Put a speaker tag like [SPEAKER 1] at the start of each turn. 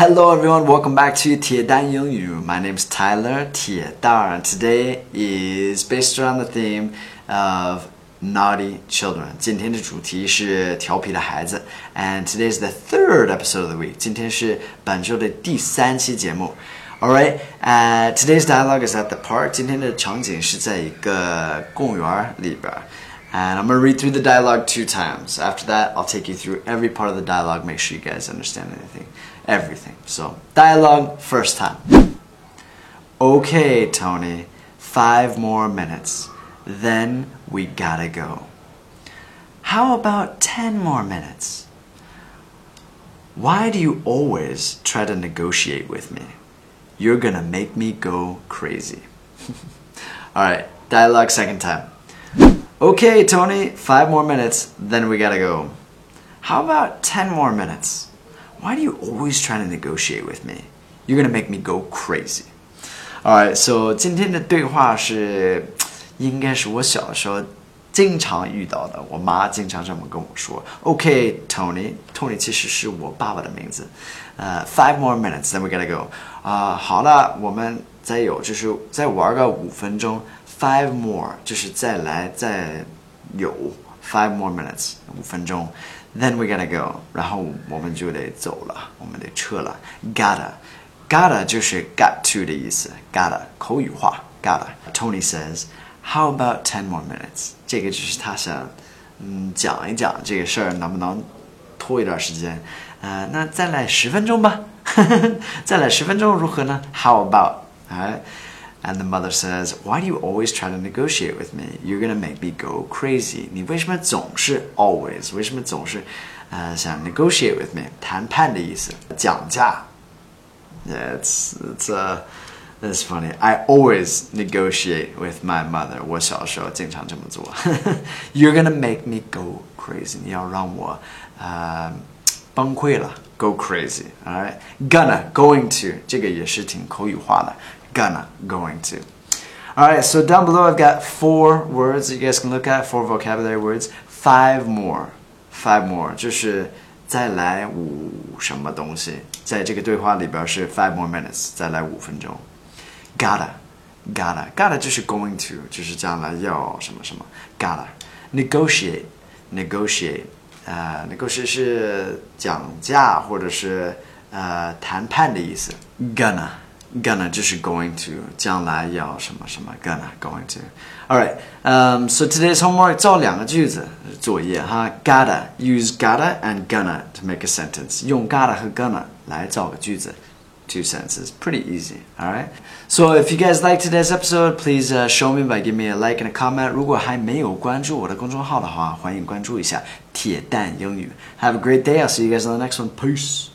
[SPEAKER 1] Hello everyone, welcome back to 铁蛋英语. My name's Tyler 铁蛋. Today is based around the theme of naughty children. 今天的主题是调皮的孩子 and today is the third episode of the week. 今天是本周的第3期节目. Alright, today's dialogue is at the park. 今天的场景是在一个公园里边. And I'm going to read through the dialogue 2 times. After that, I'll take you through every part of the dialogue, make sure you guys understand everything. So, dialogue first time. Okay, Tony, 5 more minutes. Then we gotta go. How about 10 more minutes? Why do you always try to negotiate with me? You're gonna make me go crazy. Alright, dialogue second time. Okay, Tony, 5 more minutes, then we gotta go. How about 10 more minutes? Why do you always try to negotiate with me? You're gonna make me go crazy. Alright, so 今天的对话是应该是我小的时候经常遇到的，我妈经常这么跟我说。Okay, Tony 其实是我爸爸的名字。5 more minutes, then we gotta go. 好了，我们再玩个5分钟。5 more 就是再有5 more minutes 5分钟 then we gotta go 然后我们就得走了我们得撤了 gotta 就是 got to 的意思 gotta 口语化 gotta Tony says how about 10 more minutes 这个就是他想讲一讲这个事儿能不能拖一段时间那再来10分钟吧再来10分钟如何呢 how about And the mother says, why do you always try to negotiate with me? You're going to make me go crazy. 你为什么总是 always 为什么总是想 negotiate with me? 谈判的意思讲价 It's funny. I always negotiate with my mother. 我小时候经常这么做 You're going to make me go crazy. 你要让我崩溃了 Go crazy. Alright? Going to 这个也是挺口语化的going to. Alright, so down below I've got 4 words that you guys can look at, 4 vocabulary words. 5 more. 就是再来5什么东西。在这个对话里边是5 more minutes, 再来5分钟。Gotta 就是 going to, 就是将来要什么什么。Gotta. Negotiate 是讲价或者是谈判的意思。Gonna 就是 going to 将来要什么什么 going to Alright, so today's homework 造2个句子作业哈 Gotta, use gotta and gonna to make a sentence 用 gotta 和 gonna 来造个句子 2 sentences, pretty easy Alright, so if you guys liked today's episode please show me by giving me a like and a comment 如果还没有关注我的公众号的话欢迎关注一下铁蛋英语 Have a great day, I'll see you guys on the next one, peace